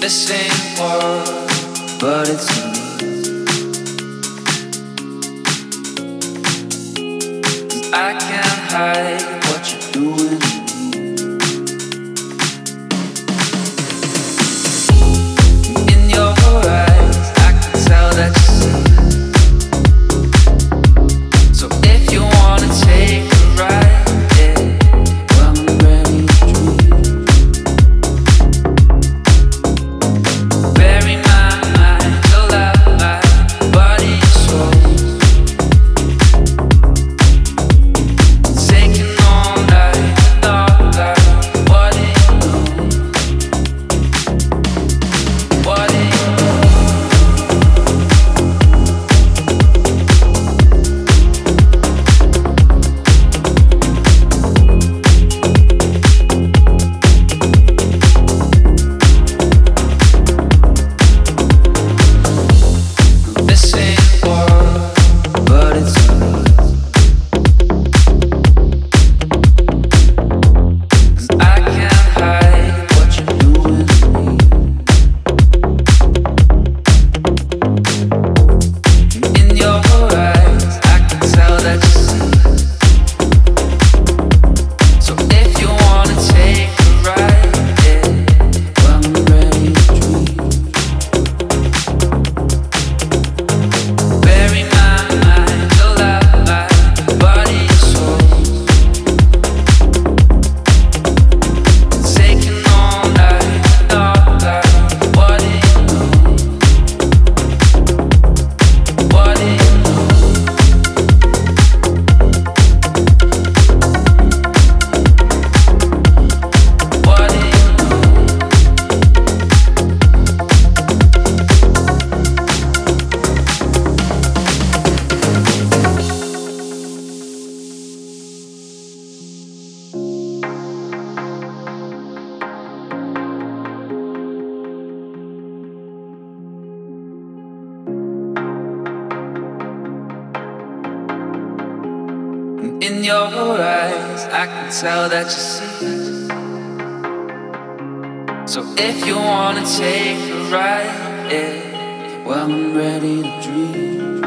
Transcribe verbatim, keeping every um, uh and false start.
This ain't war, but it's me. I can't hide what you're doing to me. In your eyes, I can tell that you see. So if you wanna take a ride, yeah, well I'm ready to dream. Bury my mind, alive, my body and soul. Taking all night, dark light. What do you know? What do you know? This ain't war, but it's me. 'Cause I can't hide what you're doing to me. In your eyes, I can tell that you see. So if you wanna take a ride, yeah, well I'm ready to dream. Bury my mind, alive, my body and soul. Taking all night, dark light. What do you know? What do you know? What do you know? In your eyes, I can tell that you see. So if you wanna take a ride, yeah, well I'm ready to dream.